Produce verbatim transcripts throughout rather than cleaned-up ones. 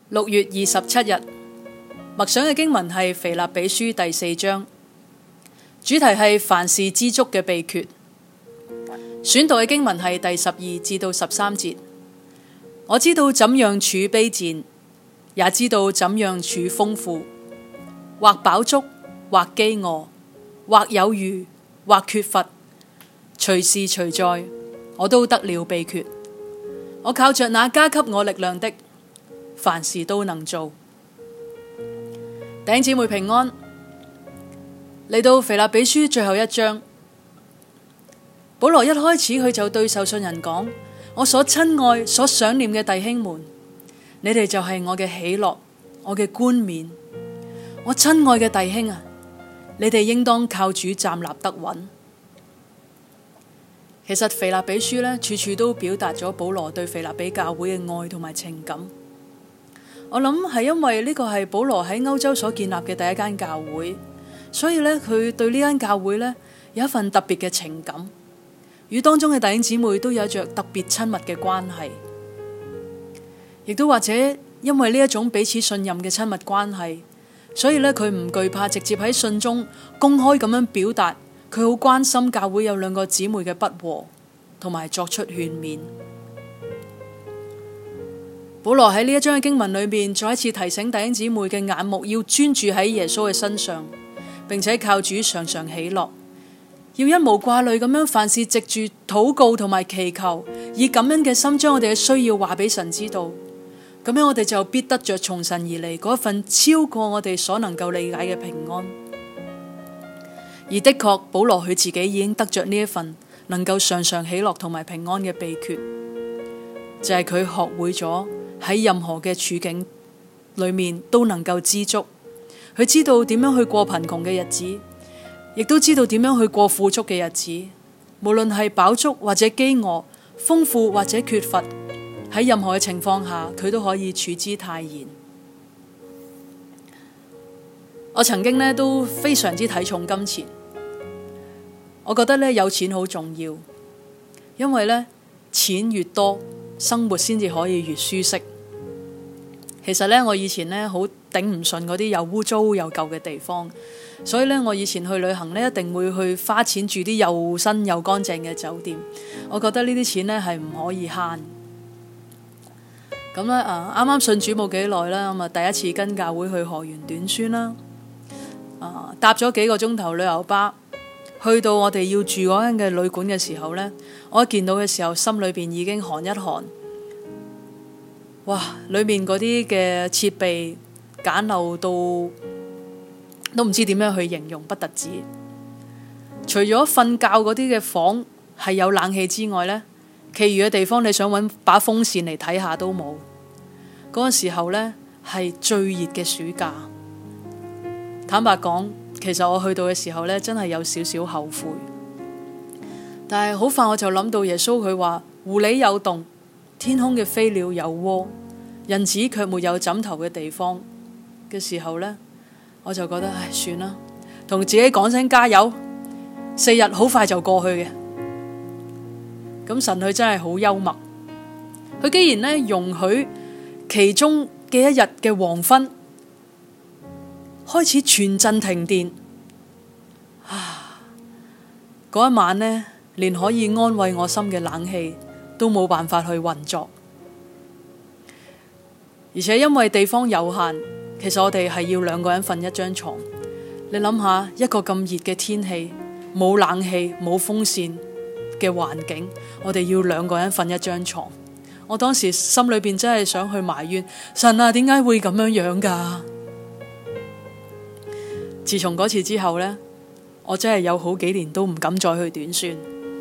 六月二十七日，默想嘅經文係腓立比書第四章，主題係凡事知足嘅秘訣。選讀嘅經文係第十二至到十三節。我知道怎樣處卑賤，也知道怎樣處豐富，或飽足，或飢餓，或有餘，或缺乏，隨時隨在，我都得了秘訣。我靠着那加給我力量的，凡事都能做。弟兄姊妹平安，嚟到腓立比書最後一章，保羅一開始佢就對受信人講：我所親愛、所想念嘅弟兄們，你哋就係我嘅喜樂，我嘅冠冕。我親愛嘅弟兄啊，你哋應當靠主站立得穩。其實腓立比書呢，處處都表達咗保羅對腓立比教會嘅愛同埋情感。我諗係因為呢個係保羅喺歐洲所建立嘅第一間教會，所以呢，佢對呢間教會呢有一份特別嘅情感，與當中嘅弟兄姊妹都有着特別親密嘅關係，亦都或者因為呢一種彼此信任嘅親密關係，所以呢，佢唔懼怕直接喺信中公開咁樣表達佢好關心教會有兩個姊妹嘅不和，同埋作出勸勉。保羅喺呢一章嘅經文裏面再一次提醒弟兄姊妹嘅眼目要專注喺耶穌嘅身上，並且靠主常常喜樂，要一無掛慮咁樣凡事藉住禱告同埋祈求，以感恩嘅心將我哋嘅需要話俾神知道，咁樣我哋就必得着從神而嚟嗰一份超過我哋所能夠理解嘅平安。而的確，保羅佢自己已經得着呢一份能夠常常喜樂同埋平安嘅秘訣，就係佢學會咗喺任何嘅處境裏面都能夠知足。佢知道點樣去過貧窮嘅日子，亦都知道點樣去過富足嘅日子。無論係飽足或者飢餓，豐富或者缺乏，喺任何嘅情況下，佢都可以處之泰然。我曾經呢都非常之睇重金錢，我覺得呢有錢好重要，因為呢錢越多，生活先至可以越舒適。其實呢，我以前呢好頂唔順嗰啲又污糟又舊嘅地方，所以呢，我以前去旅行呢一定會去花錢住啲又新又乾淨嘅酒店。我覺得呢啲錢呢係唔可以慳。咁呢，啊，啱啱信主冇幾耐啦，咁啊第一次跟教會去河源短宣啦，啊搭咗幾個鐘頭旅遊巴，去到我哋要住嗰間嘅旅館嘅時候呢，我一見到嘅時候，心裏邊已經寒一寒。哇！裏面嗰啲嘅設備簡陋到都唔知點樣去形容，不特止。除咗瞓覺嗰啲嘅房係有冷氣之外呢，其餘嘅地方你想揾把風扇嚟睇下都冇。嗰個時候呢，係最熱嘅暑假。坦白講，其實我去到嘅時候呢，真係有少少後悔。但係好快我就諗到耶穌佢話：狐狸有洞，天空嘅飛鳥有窩，人子卻沒有枕頭嘅地方嘅時候呢，我就覺得唉，算啦，同自己講聲加油，四日好快就過去嘅。咁神佢真係好幽默，佢既然呢容許其中嘅一日嘅黃昏開始全鎮停電，啊，嗰一晚呢，連可以安慰我心嘅冷氣都冇辦法去運作，而且因為地方有限，其實我哋係要兩個人瞓一張床。你諗下，一個咁熱嘅天氣，冇冷氣冇風扇嘅環境，我哋要兩個人瞓一張床。我當時心裏邊真係想去埋怨神啊，點解會咁樣樣噶？自從嗰次之後呢，我真係有好幾年都唔敢再去短宣。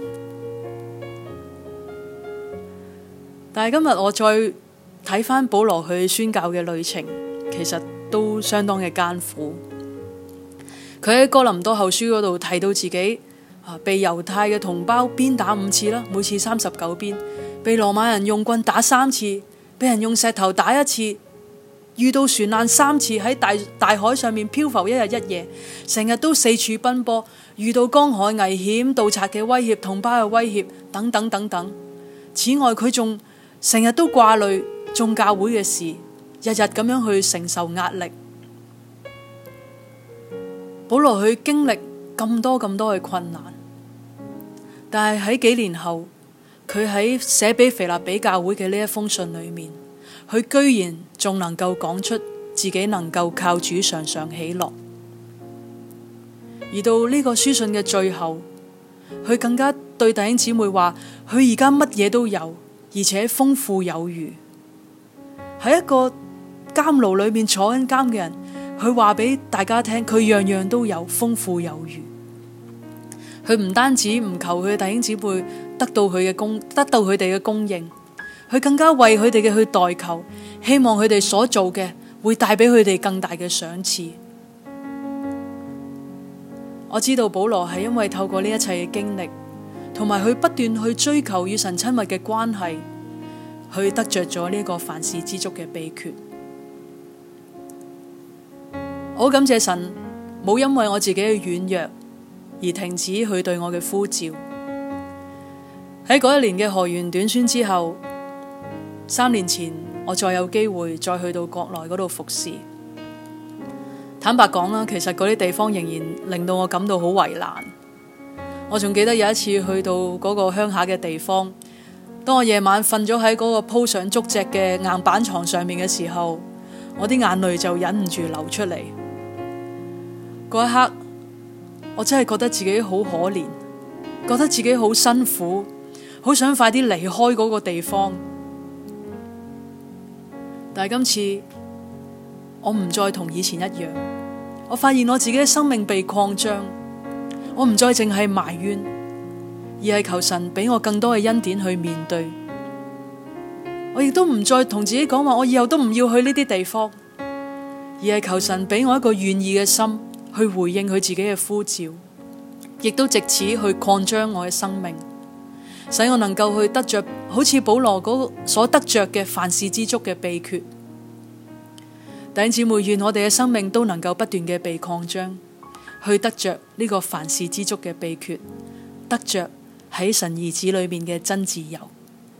但係今日我再睇返保羅去宣教嘅旅程，其實都相當嘅艱苦。佢喺哥林多後書嗰度提到自己啊，被猶太嘅同胞鞭打五次啦，每次三十九鞭；被羅馬人用棍打三次，被人用石頭打一次；遇到船難三次，喺大大海上面漂浮一日一夜，成日都四處奔波；遇到江海危險、盜賊嘅威脅、同胞嘅威脅等等等等。此外，佢仲成日都掛慮眾教會嘅事，日日日咁樣去承受壓力。保羅去經歷咁多咁多嘅困難，但係喺幾年後，佢喺寫俾腓立比教會嘅呢一封信裏面，佢居然仲能夠講出自己能夠靠主常常喜樂。而到呢個書信嘅最後，佢更加對弟兄姊妹話，佢而家乜嘢都有，而且豐富有餘。喺一個監牢裏面坐緊監嘅人，佢話俾大家聽，佢樣樣都有，豐富有餘。佢唔單止唔求佢嘅弟兄姊妹得到佢嘅供，得到佢哋嘅供應，佢更加為佢哋嘅去代求，希望佢哋所做嘅會帶俾佢哋更大嘅賞賜。我知道保羅係因為透過呢一切嘅經歷，同埋佢不斷去追求與神親密嘅關係，去得着咗呢個凡事知足嘅秘訣。我好感謝神，冇因為我自己嘅軟弱而停止佢對我嘅呼召。喺嗰一年嘅河源短宣之後，三年前我再有機會再去到國內嗰度服侍。坦白講啦，其實嗰啲地方仍然令到我感到好為難。我仲記得有一次去到嗰個鄉下嘅地方，當我夜晚瞓咗喺嗰個鋪上竹席嘅硬板床上面嘅時候，我啲眼淚就忍唔住流出嚟。嗰一刻，我真係覺得自己好可憐，覺得自己好辛苦，好想快啲離開嗰個地方。但係今次我唔再同以前一樣，我發現我自己嘅生命被擴張，我唔再淨係埋怨，而係求神俾我更多嘅恩典去面對。我亦都唔再同自己講話，我以後都唔要去呢啲地方，而係求神俾我一個願意嘅心去回應佢自己嘅呼召，亦都藉此去擴張我嘅生命，使我能夠去得着好似保羅嗰所得着嘅凡事知足嘅秘訣。弟兄姊妹，願我哋嘅生命都能夠不斷嘅被擴張，去得着呢個凡事知足嘅秘訣，得着喺神兒子裏面嘅真自由。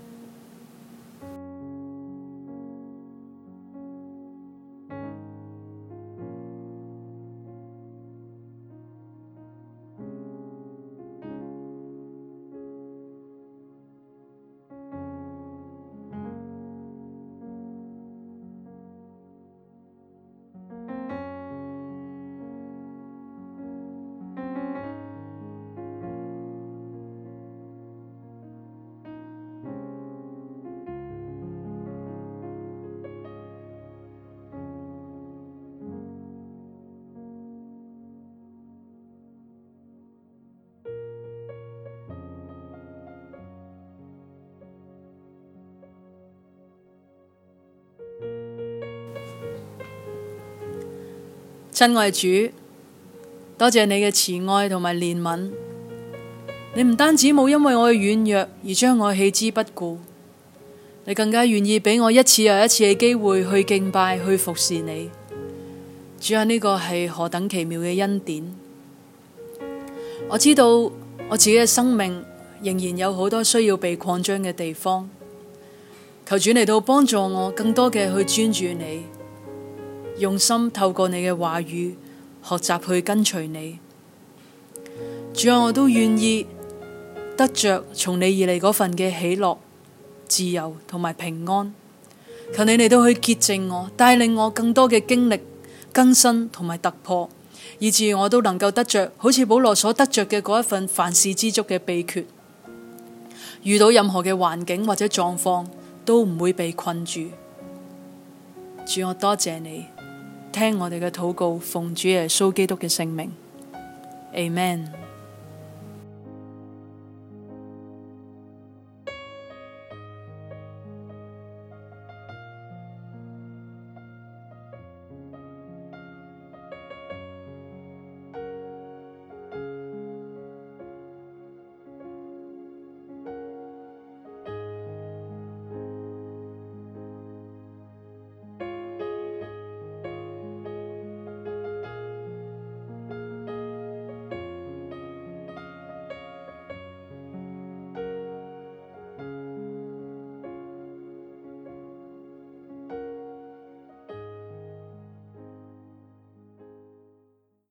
親愛主，多謝你嘅慈愛同埋憐憫。你唔單止冇因為我嘅軟弱而將我棄之不顧，你更加願意俾我一次又一次嘅機會去敬拜、去服侍你。主啊，呢個係何等奇妙嘅恩典！我知道我自己嘅生命仍然有好多需要被擴張嘅地方，求主嚟到幫助我更多嘅去專注你，用心透過你嘅話語學習去跟隨你。主啊，我都願意得着從你而嚟嗰份嘅喜樂、自由同埋平安。求你嚟到去潔淨我，帶領我更多嘅經歷更新同埋突破，以致我都能夠得着好似保羅所得着嘅嗰一份凡事知足嘅秘訣。遇到任何嘅環境或者狀況都唔會被困住。主，我多謝你，聽我哋嘅禱告，奉主耶穌基督嘅聖名，Amen。